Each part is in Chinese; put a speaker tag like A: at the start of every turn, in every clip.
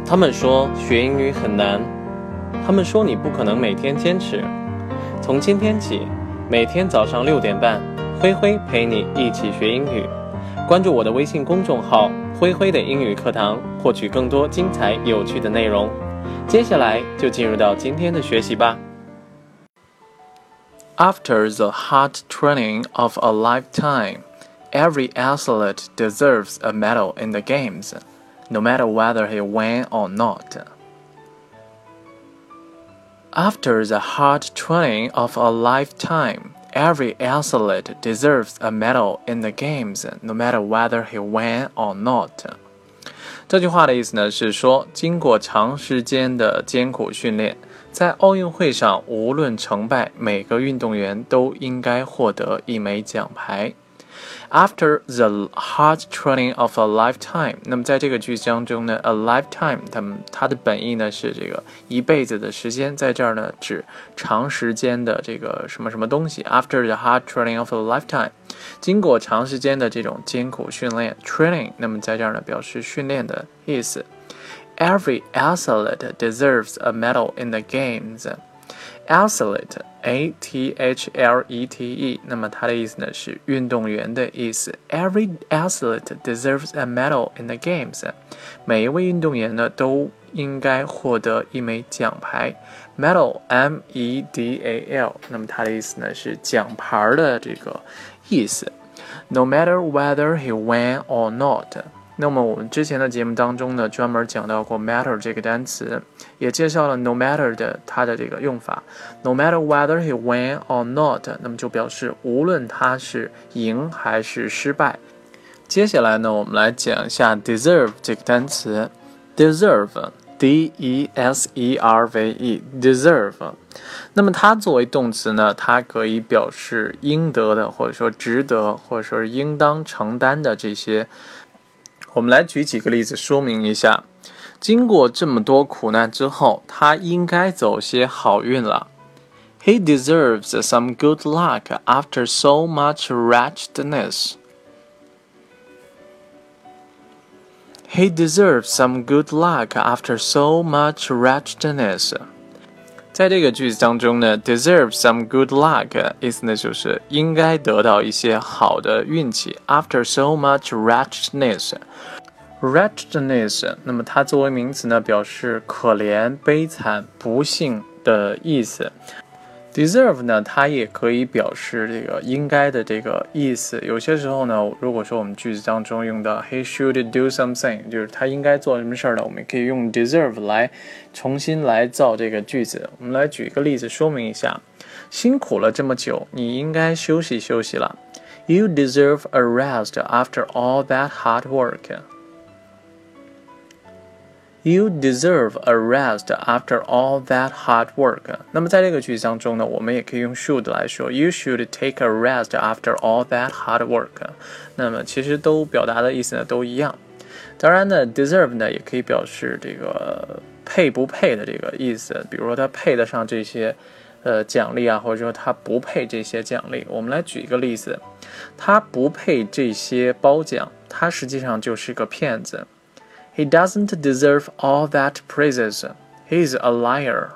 A: 他们说学英语很难，他们说你不可能每天坚持。从今天起，每天早上6点半，灰灰陪你一起学英语。关注我的微信公众号“灰灰的英语课堂”，获取更多精彩有趣的内容。接下来就进入到今天的学习吧。After the hard training of a lifetime, every athlete deserves a medal in the games, no matter whether he won or not. After the hard training of a lifetime, every athlete deserves a medal in the games, no matter whether he won or not. 这句话的意思呢是说，经过长时间的艰苦训练，在奥运会上无论成败，每个运动员都应该获得一枚奖牌。After the hard training of a lifetime， 那么在这个句子当中呢 ，a lifetime， 它的本意呢是这个一辈子的时间，在这儿呢指长时间的这个什么什么东西。After the hard training of a lifetime， 经过长时间的这种艰苦训练 ，training， 那么在这儿呢表示训练的意思。Every athlete deserves a medal in the games.Athlete, A-T-H-L-E-T-E， 那么它的意思呢是运动员的意思。Every athlete deserves a medal in the games。每一位运动员呢都应该获得一枚奖牌。Medal, M-E-D-A-L， 那么它的意思呢是奖牌的这个意思。No matter whether he won or not。那么我们之前的节目当中呢，专门讲到过 matter 这个单词，也介绍了 no matter 的它的这个用法。No matter whether he won or not， 那么就表示无论他是赢还是失败。接下来呢，我们来讲一下 deserve 这个单词。deserve D-E-S-E-R-V-E deserve， 那么它作为动词呢，它可以表示应得的，或者说值得，或者说是应当承担的这些。我们来举几个例子说明一下，经过这么多苦难之后，他应该走些好运了。He deserves some good luck after so much wretchedness. He deserves some good luck after so much wretchedness. 在这个句子当中呢 deserve some good luck 意思呢就是应该得到一些好的运气 after so much wretchedness 那么它作为名词呢表示可怜悲惨不幸的意思。deserve 呢它也可以表示这个应该的这个意思。有些时候呢如果说我们句子当中用到 he should do something 就是他应该做什么事儿呢，我们可以用 deserve 来重新来造这个句子。我们来举一个例子说明一下，辛苦了这么久，你应该休息休息了。 You deserve a rest after all that hard work.You deserve a rest after all that hard work. 那么在这个句子当中呢，我们也可以用 should 来说 You should take a rest after all that hard work. 那么其实都表达的意思呢都一样。当然呢 deserve 呢也可以表示这个配不配的这个意思，比如说他配得上这些奖励啊，或者说他不配这些奖励。我们来举一个例子，他不配这些褒奖，他实际上就是个骗子。He doesn't deserve all that praises. He's a liar.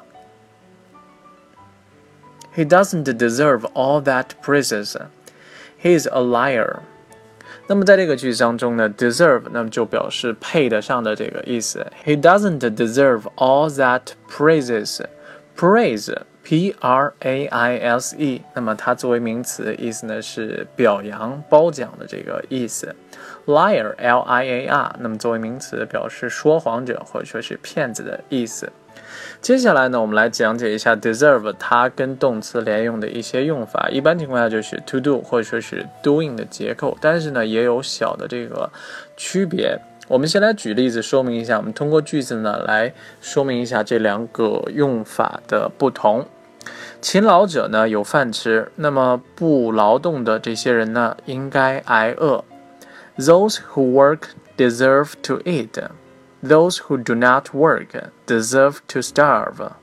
A: He doesn't deserve all that praises. He's a liar. 那么在这个句子当中呢 deserve 那么就表示配得上的这个意思。He doesn't deserve all that praises. Praise P-R-A-I-S-E 那么它作为名词意思呢是表扬褒奖的这个意思。Liar L-I-A-R 那么作为名词表示说谎者或者说是骗子的意思。接下来呢我们来讲解一下 deserve 它跟动词连用的一些用法。一般情况下就是 to do 或者说是 doing 的结构，但是呢也有小的这个区别。我们先来举例子说明一下，我们通过句子呢来说明一下这两个用法的不同。勤劳者呢有饭吃，那么不劳动的这些人呢应该挨饿。Those who work deserve to eat. Those who do not work deserve to starve.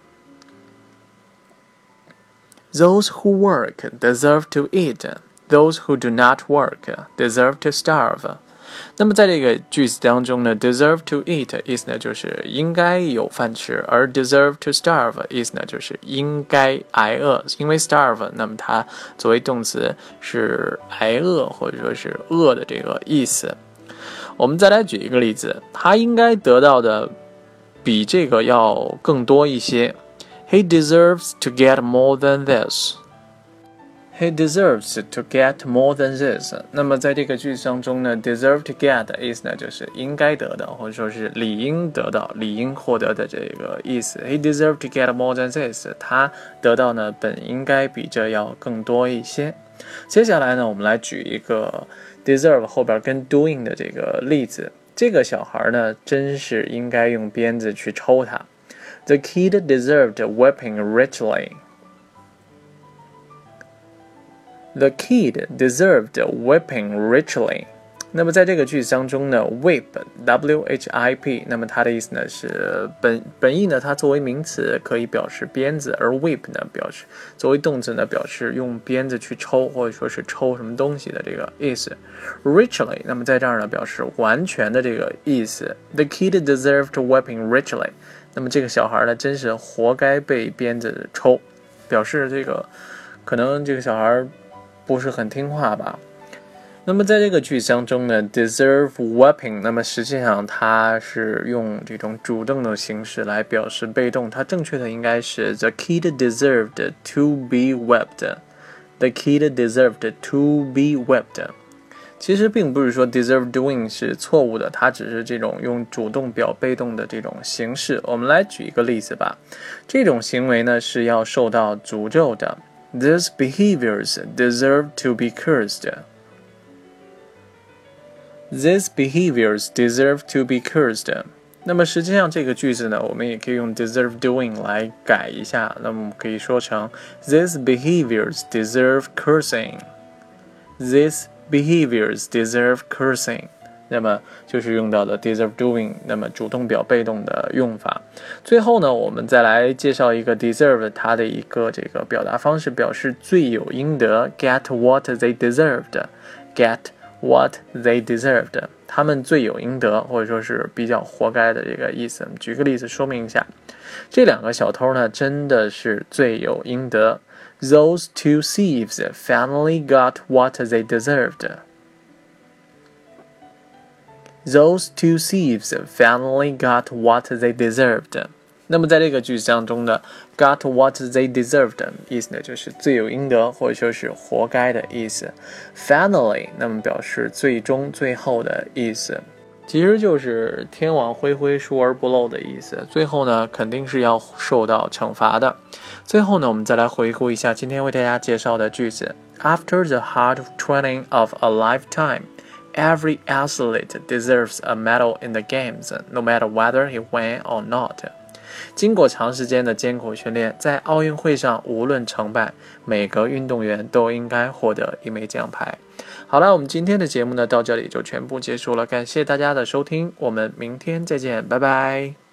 A: Those who work deserve to eat. Those who do not work deserve to starve. 那么在这个句子当中呢 ，deserve to eat 意思呢就是应该有饭吃，而 deserve to starve 意思呢就是应该挨饿。因为 starve， 那么它作为动词是挨饿或者说是饿的这个意思。我们再来举一个例子，他应该得到的比这个要更多一些。He deserves to get more than this.He deserves to get more than this. 那么在这个句子当中呢 ，deserve to get 的意思呢就是应该得到，或者说是理应得到、理应获得的这个意思。He deserves to get more than this. 他得到呢本应该比这要更多一些。接下来呢，我们来举一个 deserve 后边跟 doing 的这个例子。这个小孩呢，真是应该用鞭子去抽他。The kid deserved whipping richly.The kid deserved whipping richly. 那么在这个句子当中呢 whip W-H-I-P 那么它的意思呢是本意呢它作为名词可以表示鞭子，而 whip 呢表示作为动词呢表示用鞭子去抽或者说是抽什么东西的这个意思。richly 那么在这儿呢表示完全的这个意思。The kid deserved whipping richly. 那么这个小孩呢真是活该被鞭子抽，表示这个可能这个小孩不是很听话吧。那么在这个句子当中呢 deserve whipping 那么实际上它是用这种主动的形式来表示被动，它正确的应该是 the kid deserved to be whipped. The kid deserved to be whipped. 其实并不是说 deserve doing 是错误的，它只是这种用主动表被动的这种形式。我们来举一个例子吧，这种行为呢是要受到诅咒的。These behaviors deserve to be cursed. These behaviors deserve to be cursed. 那么实际上这个句子呢，我们也可以用 deserve doing 来改一下。那么我们可以说成 These behaviors deserve cursing. These behaviors deserve cursing. 那么就是用到的 deserve doing 那么主动表被动的用法。最后呢，我们再来介绍一个 deserve 它的一个这个表达方式，表示罪有应得 get what they deserved. Get what they deserved. 他们罪有应得，或者说是比较活该的这个意思。举个例子说明一下，这两个小偷呢真的是罪有应得。Those two thieves finally got what they deserved.Those two thieves finally got what they deserved. 那么在这个句子当中呢 got what they deserved 意思呢就是罪有应得或者说是活该的意思。Finally 那么表示最终最后的意思，其实就是天网恢恢疏而不漏的意思，最后呢肯定是要受到惩罚的。最后呢我们再来回顾一下今天为大家介绍的句子。After the hard training of a lifetime,Every athlete deserves a medal in the games, no matter whether he won or not. 经过长时间的艰苦训练，在奥运会上无论成败，每个运动员都应该获得一枚奖牌。好了，我们今天的节目呢到这里就全部结束了，感谢大家的收听，我们明天再见，拜拜。